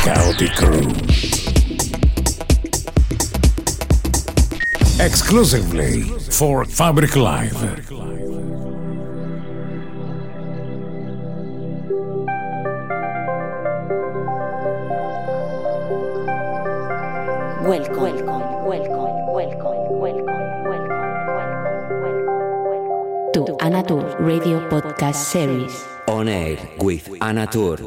Chaotic Crew. Exclusively for Fabric Live. Welcome to Anatur Radio Podcast Series. On Air with Anatur.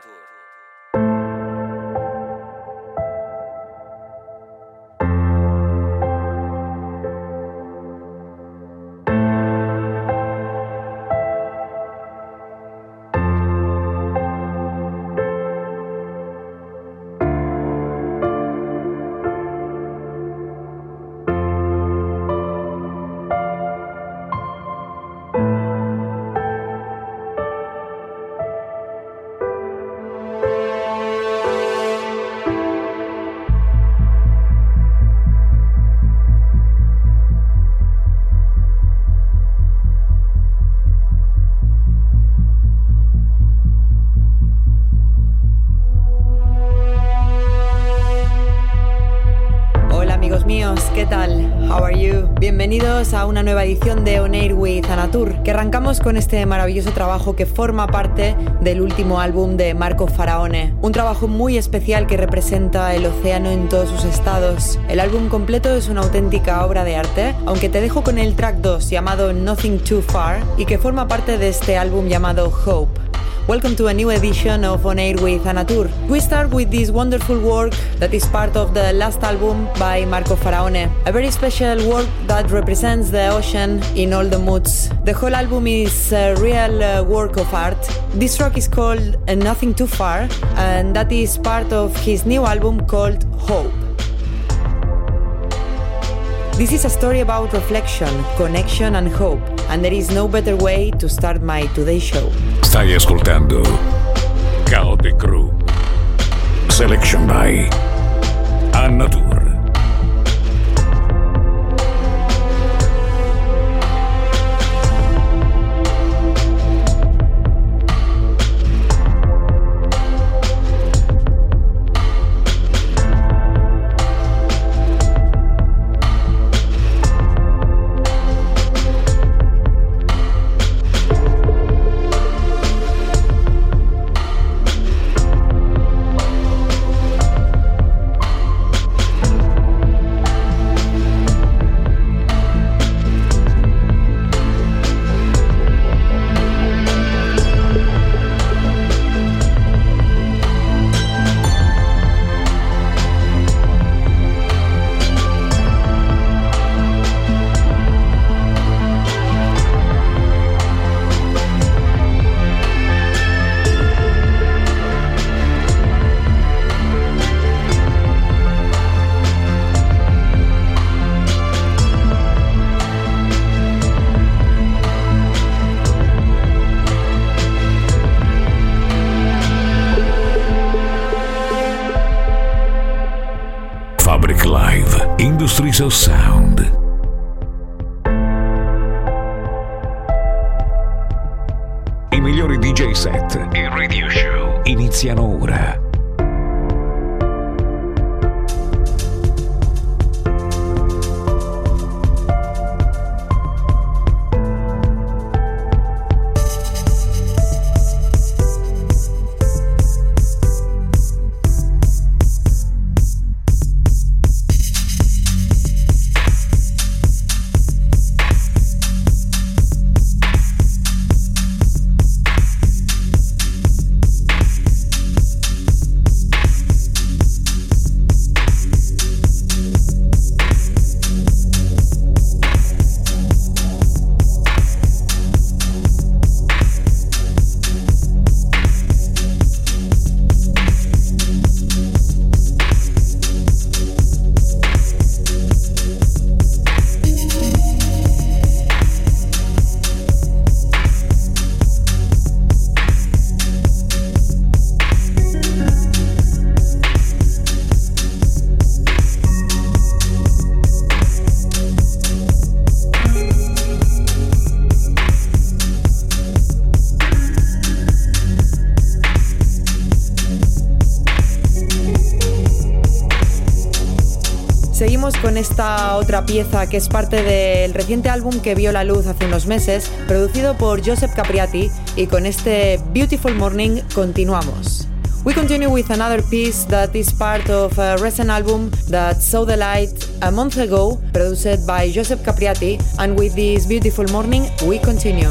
¿Qué tal? How are you? Bienvenidos a una nueva edición de On Air with Anatur, que arrancamos con este maravilloso trabajo que forma parte del último álbum de Marco Faraone. Un trabajo muy especial que representa el océano en todos sus estados. El álbum completo es una auténtica obra de arte, aunque te dejo con el track 2 llamado Nothing Too Far y que forma parte de este álbum llamado Hope. Welcome to a new edition of On Air with Anatur. We start with this wonderful work that is part of the last album by Marco Faraone. A very special work that represents the ocean in all the moods. The whole album is a real work of art. This track is called Nothing Too Far, and that is part of his new album called Hope. This is a story about reflection, connection and hope, and there is no better way to start my today's show. Stai ascoltando Chaotic Crew. Selection by Anatur. Fabric Live, Industries of Sound. I migliori DJ set e radio show iniziano ora. Seguimos con esta otra pieza que es parte del reciente álbum que vio la luz hace unos meses, producido por Joseph Capriati, y con este Beautiful Morning continuamos. We continue with another piece that is part of a recent album that saw the light a month ago, produced by Joseph Capriati, and with this Beautiful Morning we continue.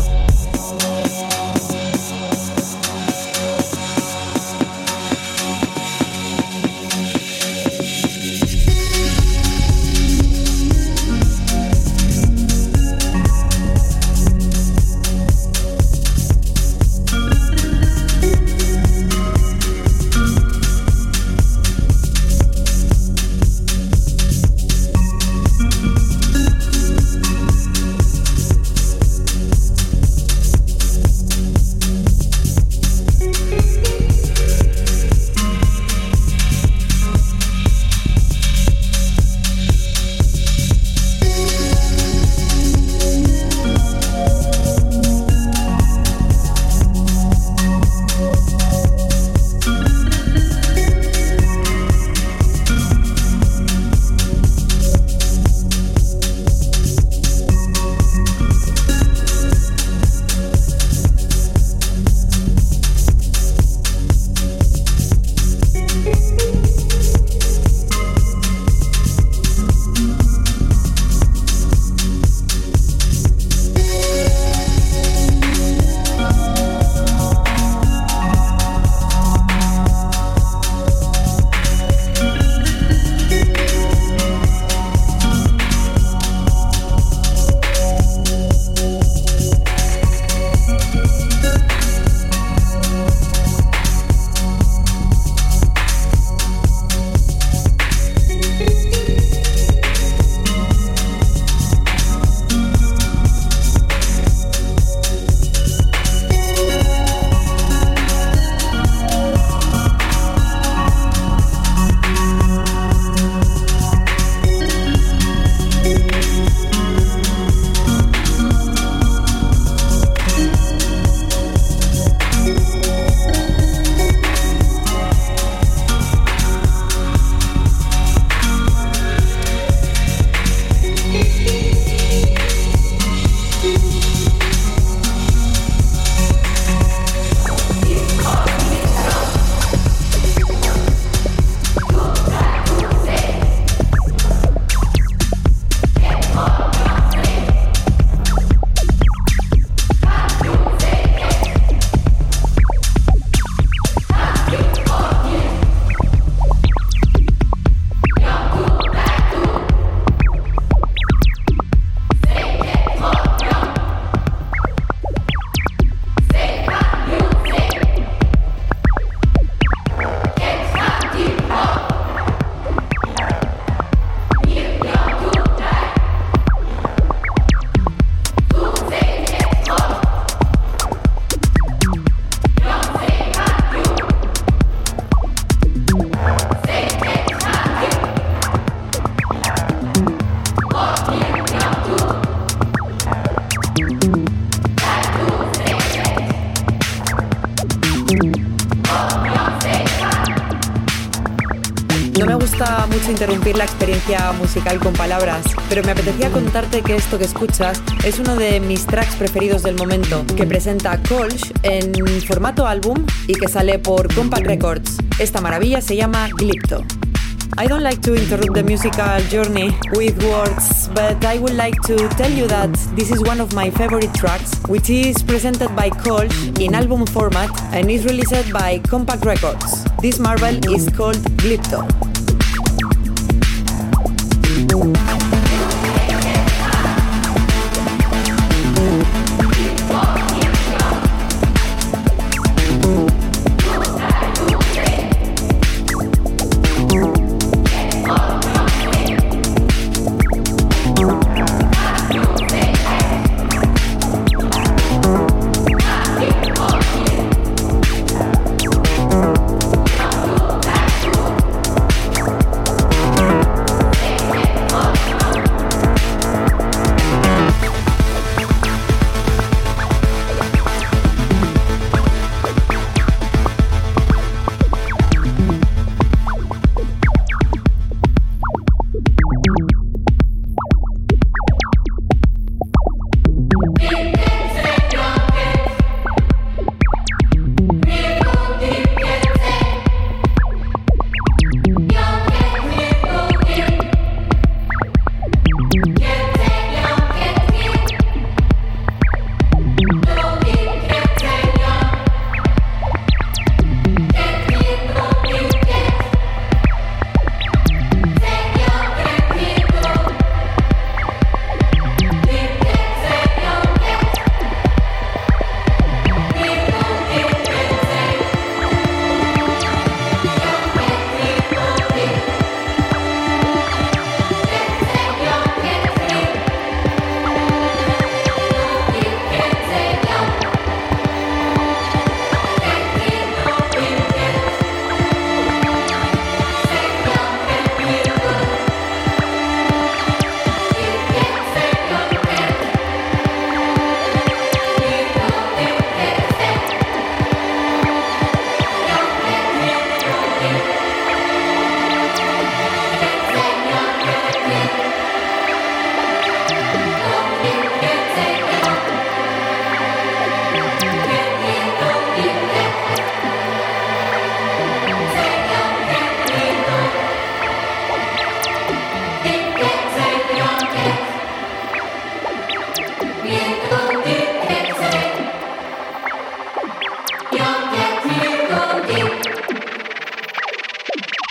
gusta mucho interrumpir la experiencia musical con palabras, pero me apetecía contarte que esto que escuchas es uno de mis tracks preferidos del momento, que presenta Kolsch en formato álbum y que sale por Compact Records. Esta maravilla se llama Glypto. I don't like to interrupt the musical journey with words, but I would like to tell you that this is one of my favorite tracks, which is presented by Kolsch in album format and is released by Compact Records. This marvel is called Glypto.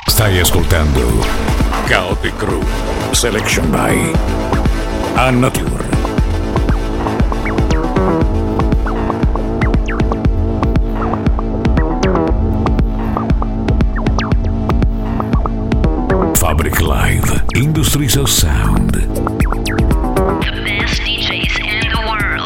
Stai ascoltando Chaotic Crew, Selection by Annatur. Fabric Live, Industries of Sound. The best DJs in the world.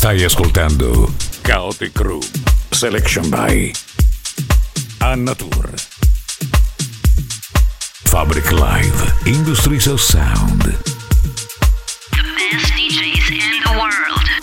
Stai ascoltando Chaotic Crew, selection by Annatur. Fabric Live, Industries of Sound. The best DJs in the world.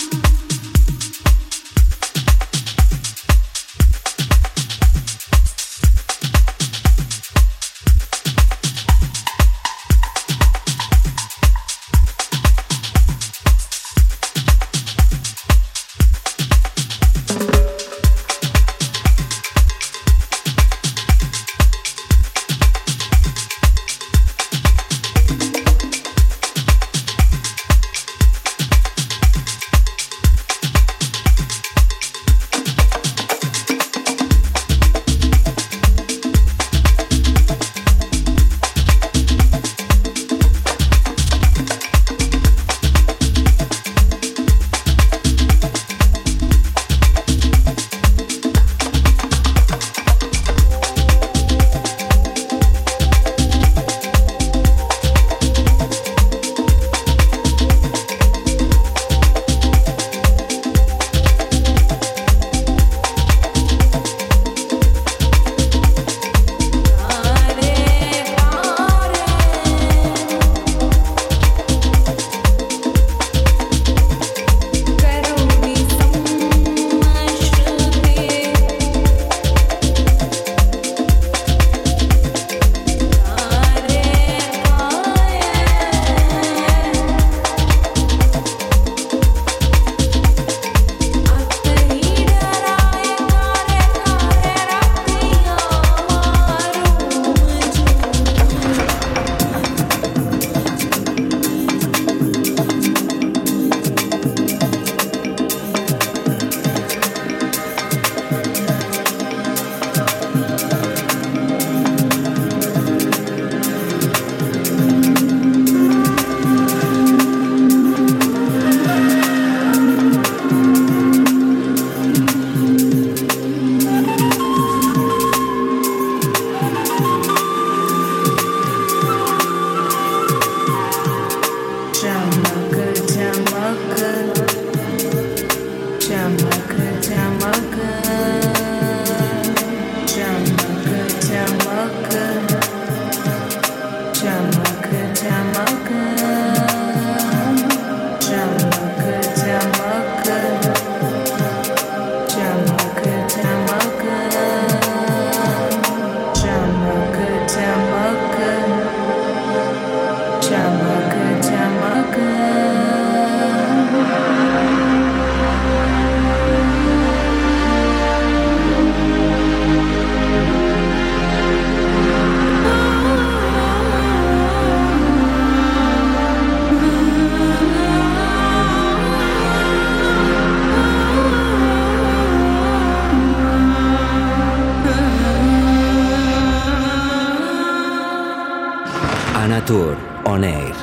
Annatur on air.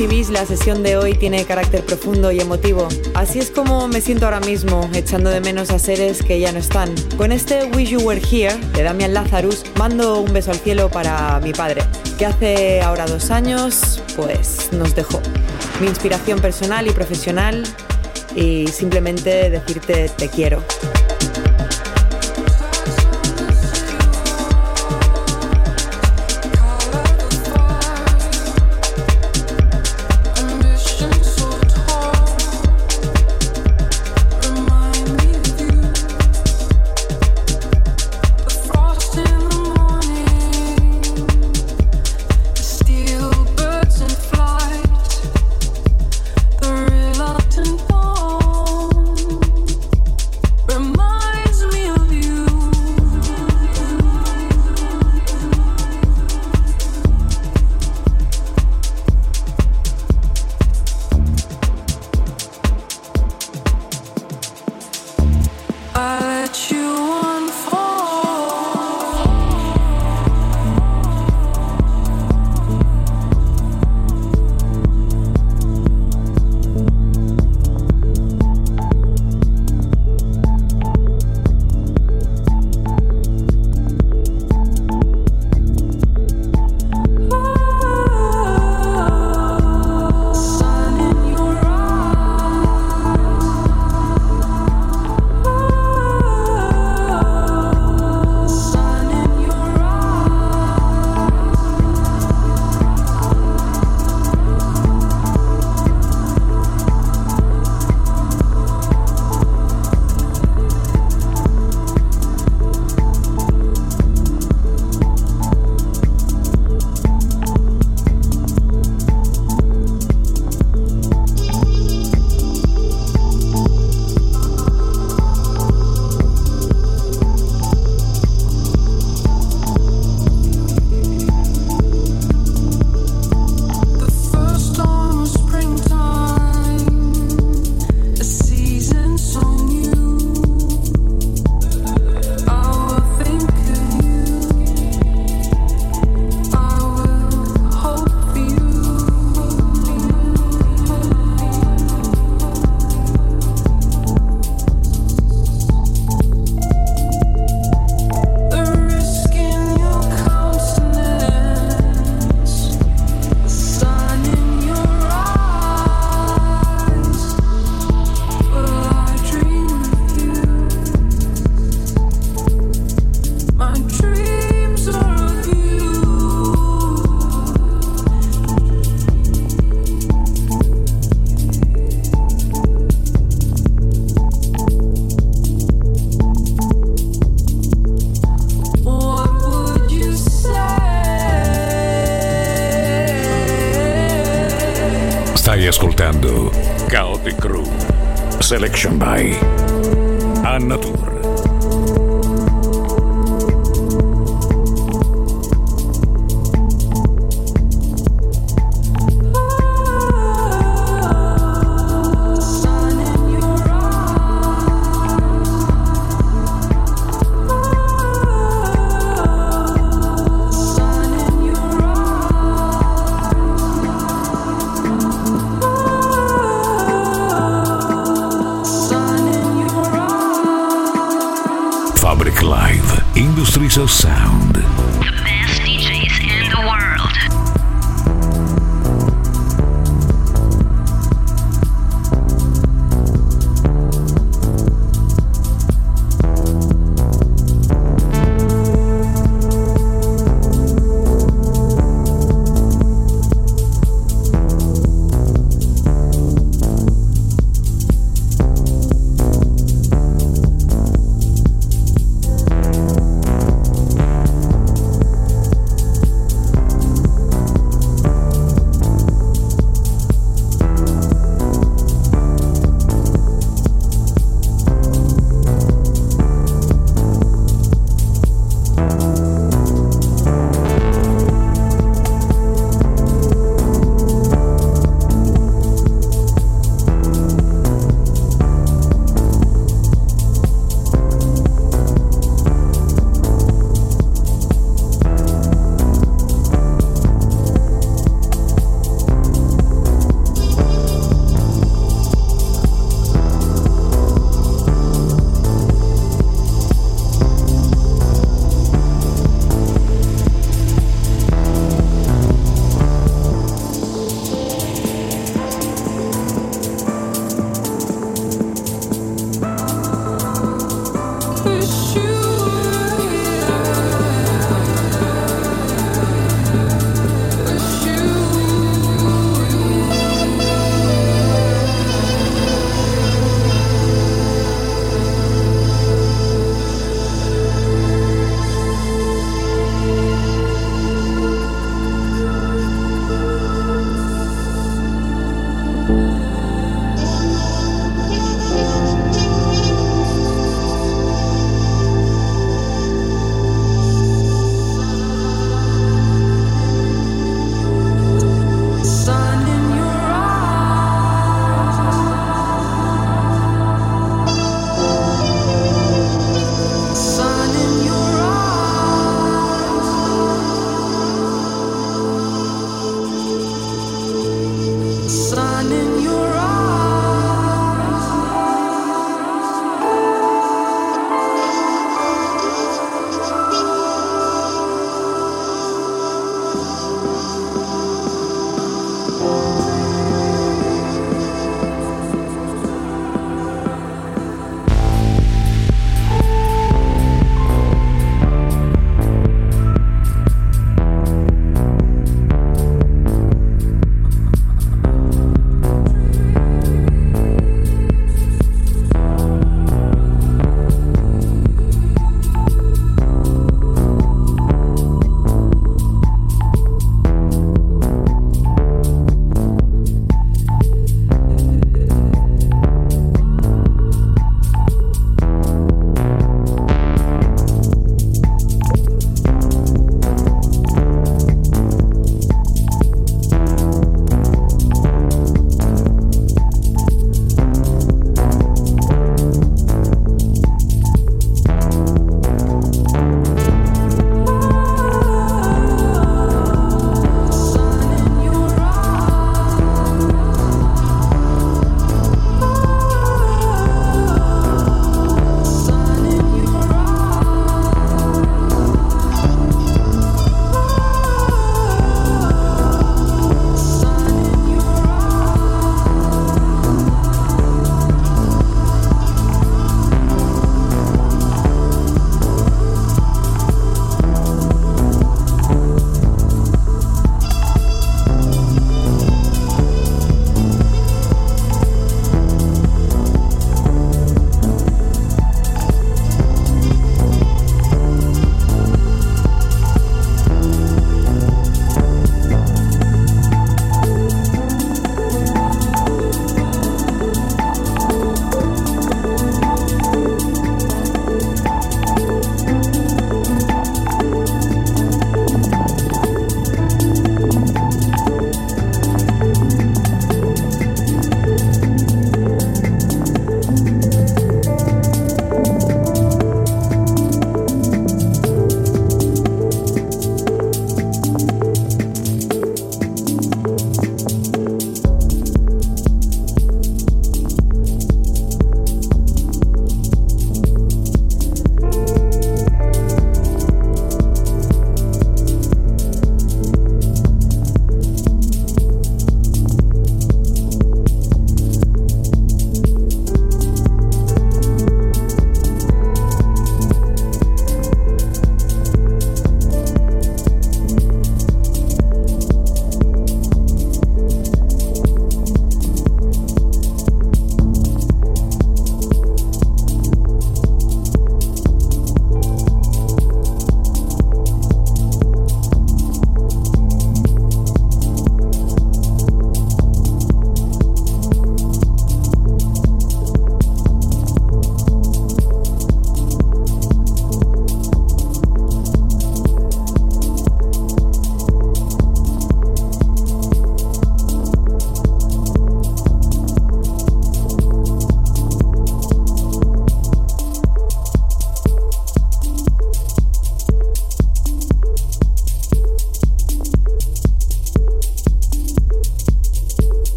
percibís, la sesión de hoy tiene carácter profundo y emotivo. Así es como me siento ahora mismo, echando de menos a seres que ya no están. Con este Wish You Were Here de Damian Lazarus mando un beso al cielo para mi padre, que hace ahora 2 años, pues nos dejó. Mi inspiración personal y profesional, y simplemente decirte te quiero. Stai ascoltando Chaotic Crew, Selection by Annatur. Fabric Live, Industries of Sound. The best DJs in the world.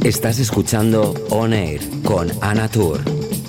Estás escuchando On Air con Anatur.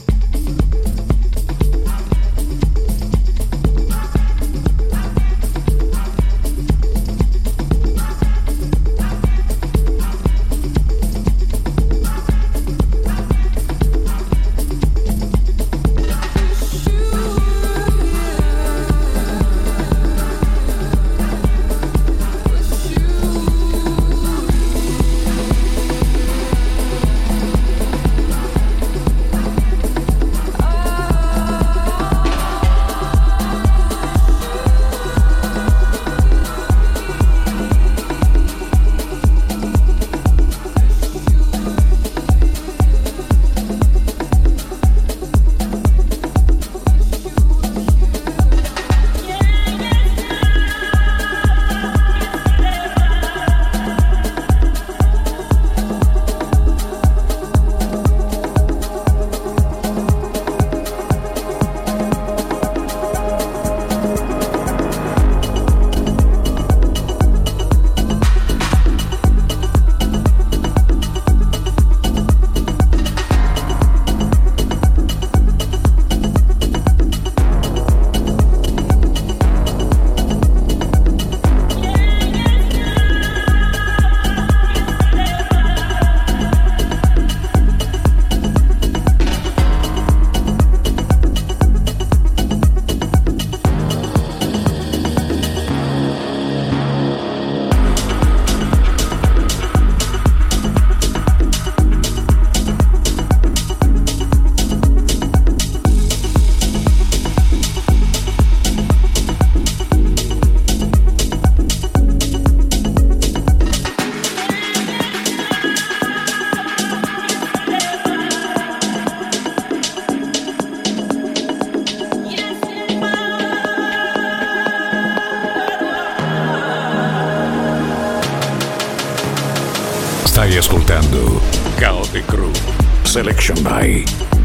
Stai ascoltando Chaotic Crew, selection by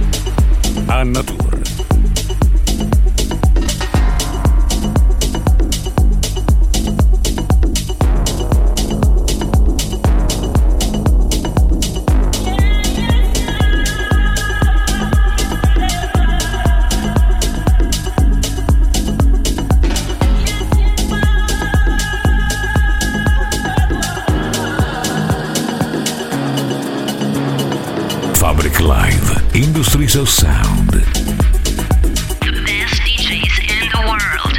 Anatur. Fabric Live, Industries of Sound. The best DJs in the world.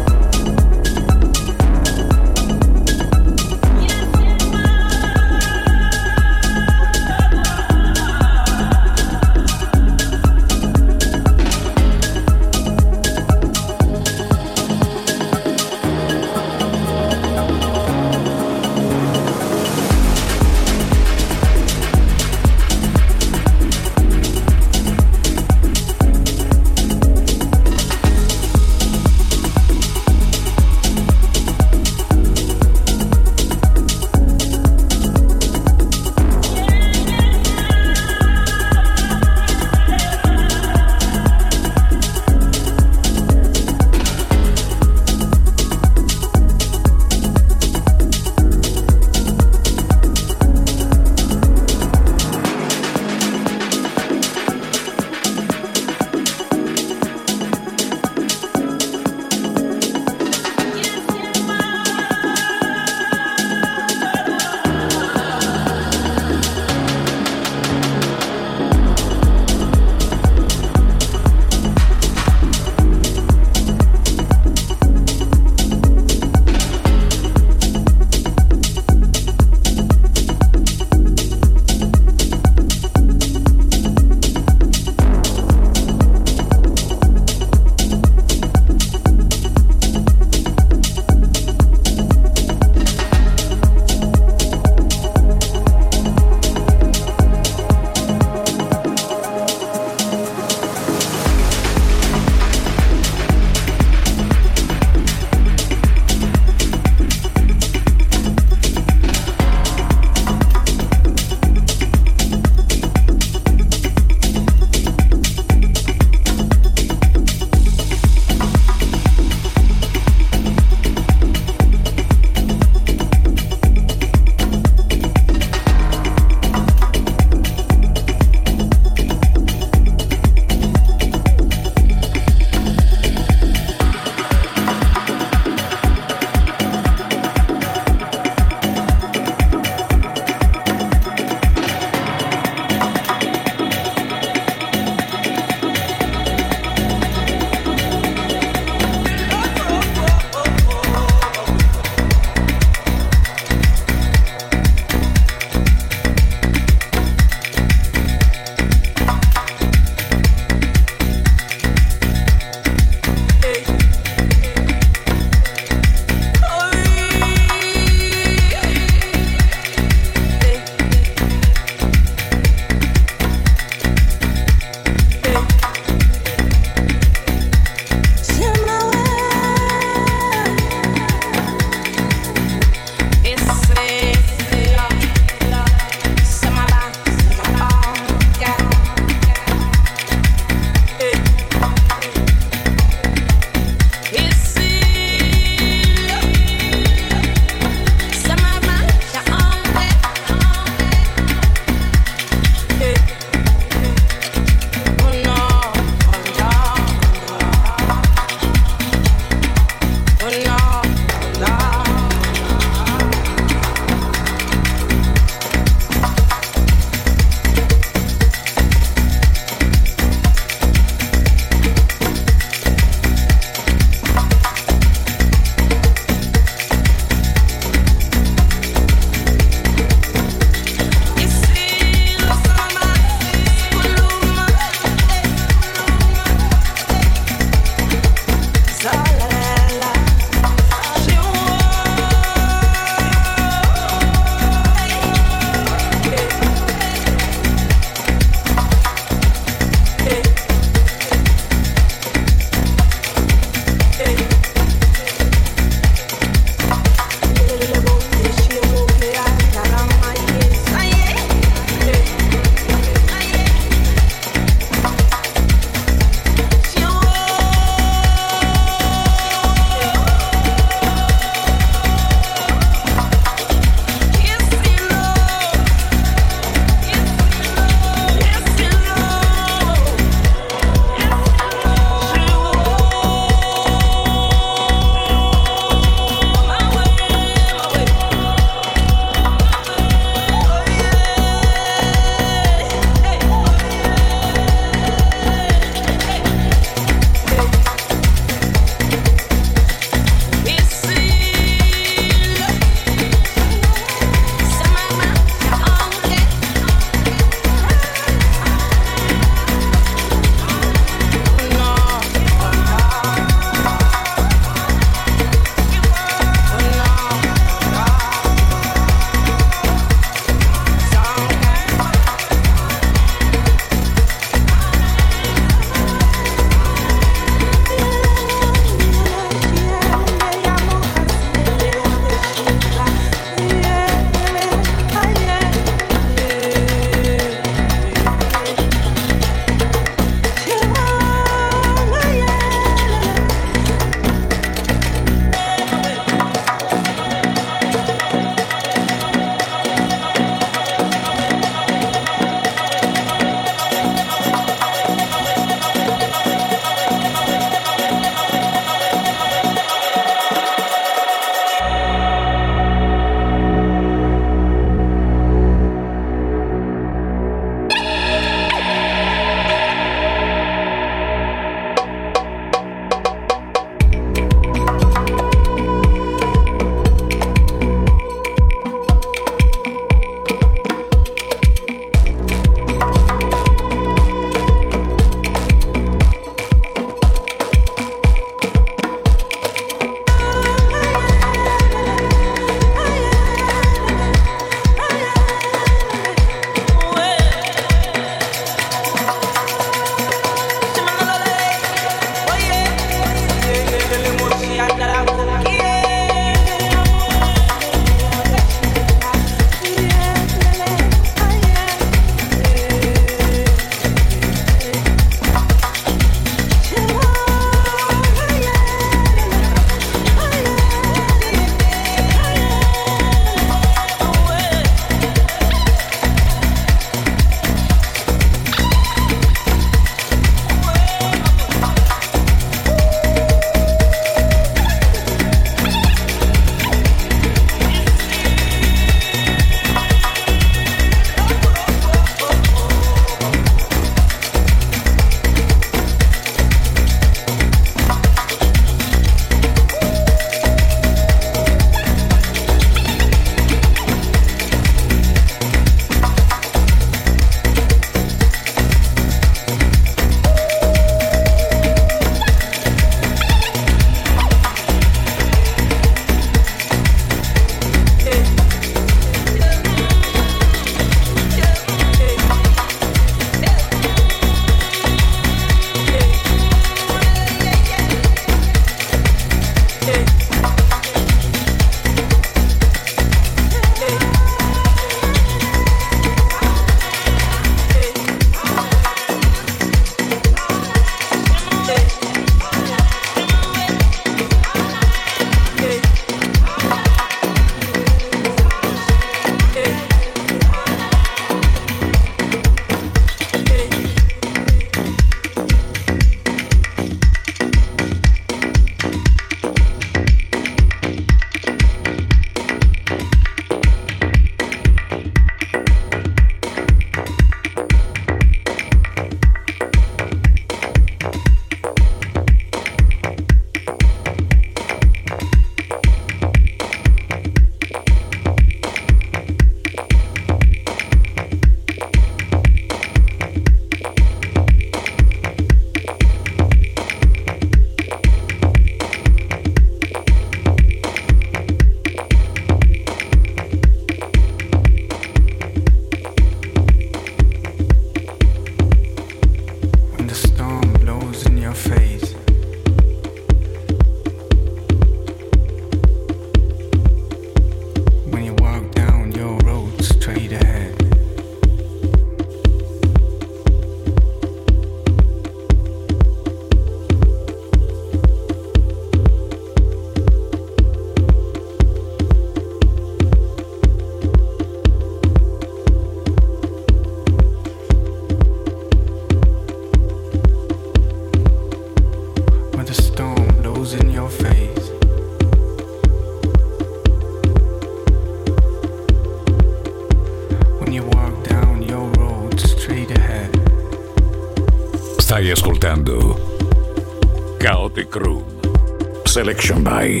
Stai ascoltando Chaotic Room. Selection by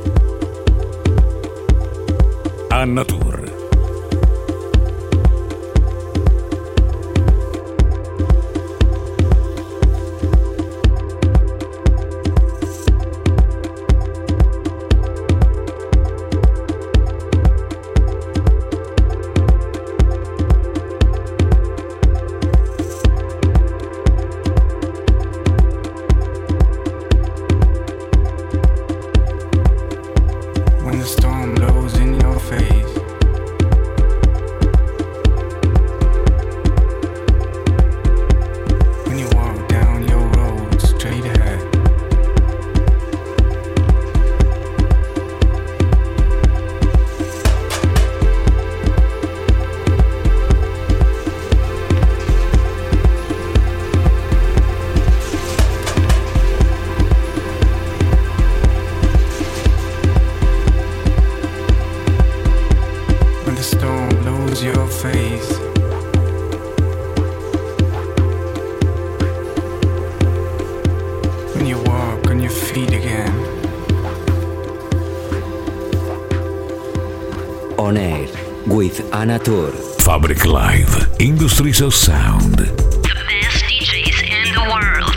Annatur. On Air with Annatur. Fabric Live, Industries of Sound. The best DJs in the world.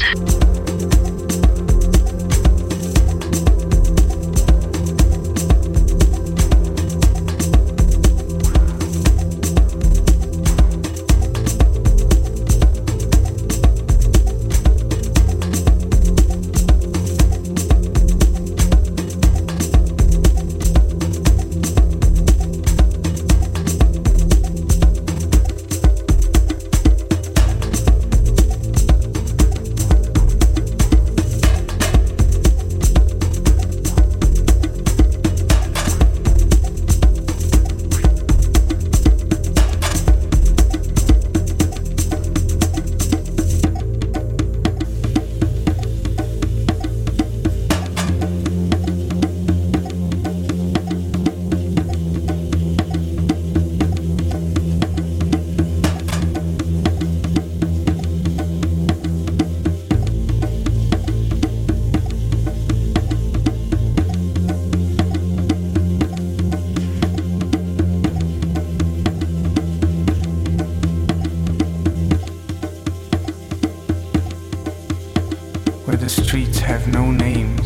Where the streets have no names.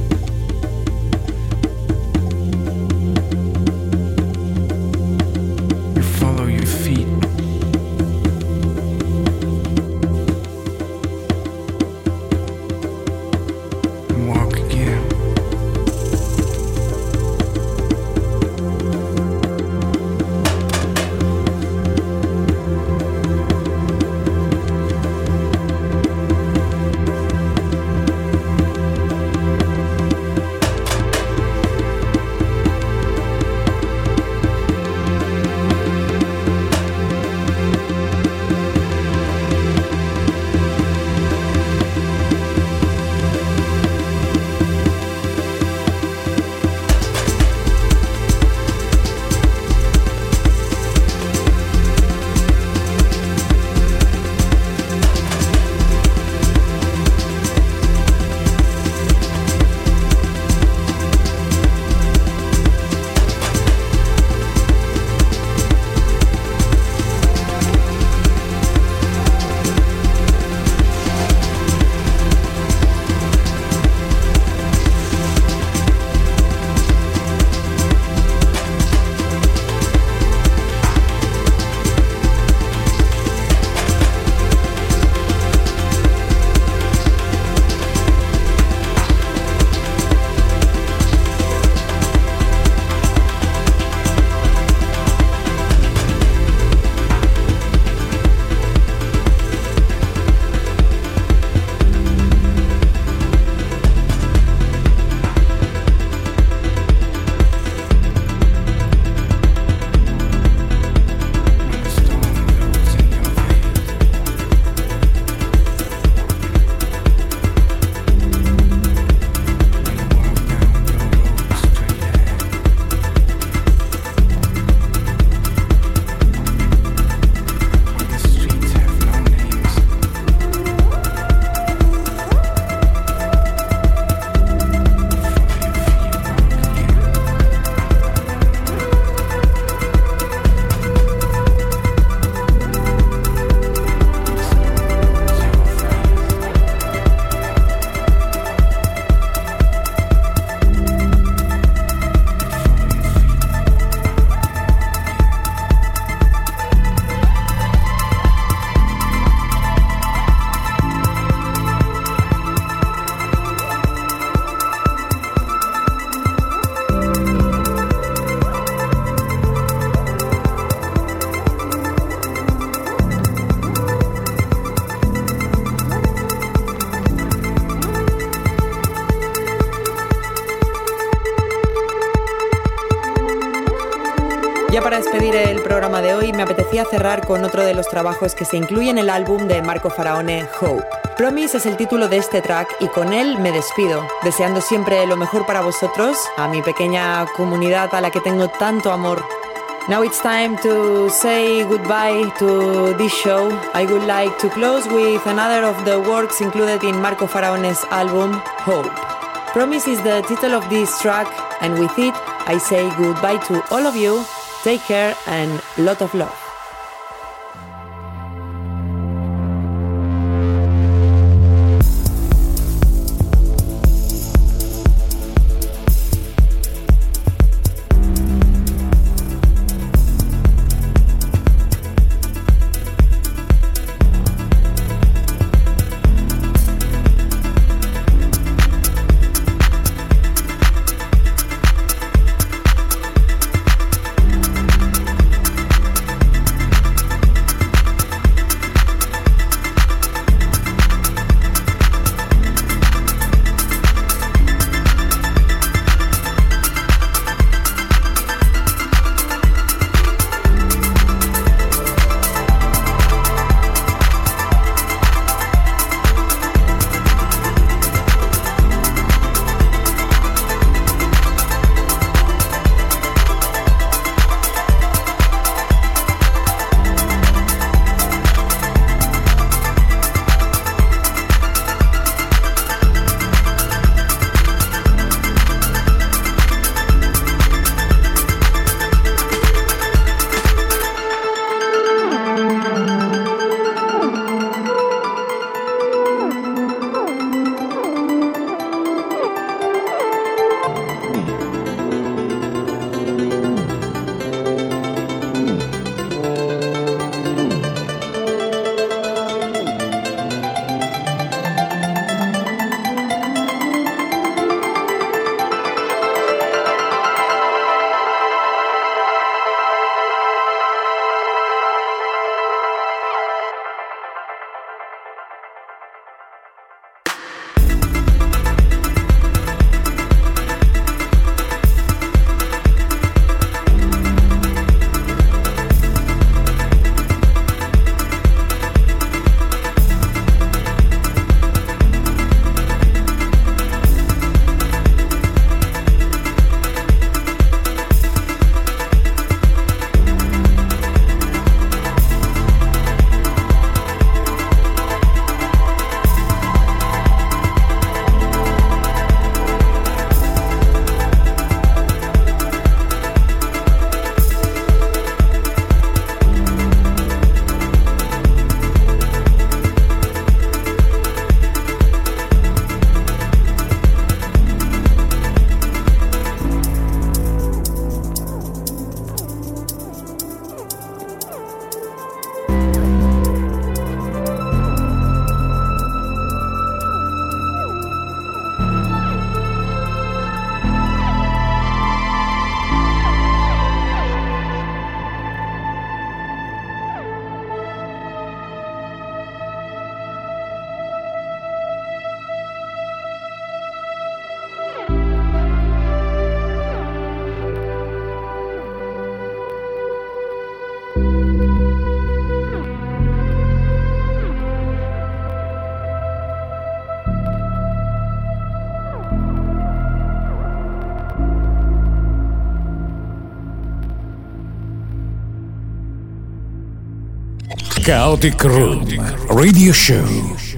You follow your feet. And walk again. Ya para despedir el programa de hoy, me apetecía cerrar con otro de los trabajos que se incluye en el álbum de Marco Faraone, Hope. Promise es el título de este track y con él me despido, deseando siempre lo mejor para vosotros, a mi pequeña comunidad a la que tengo tanto amor. Now it's time to say goodbye to this show. I would like to close with another of the works included in Marco Faraone's album, Hope. Promise is the title of this track, and with it, I say goodbye to all of you. Take care and lot of love. Chaotic Room Radio Show.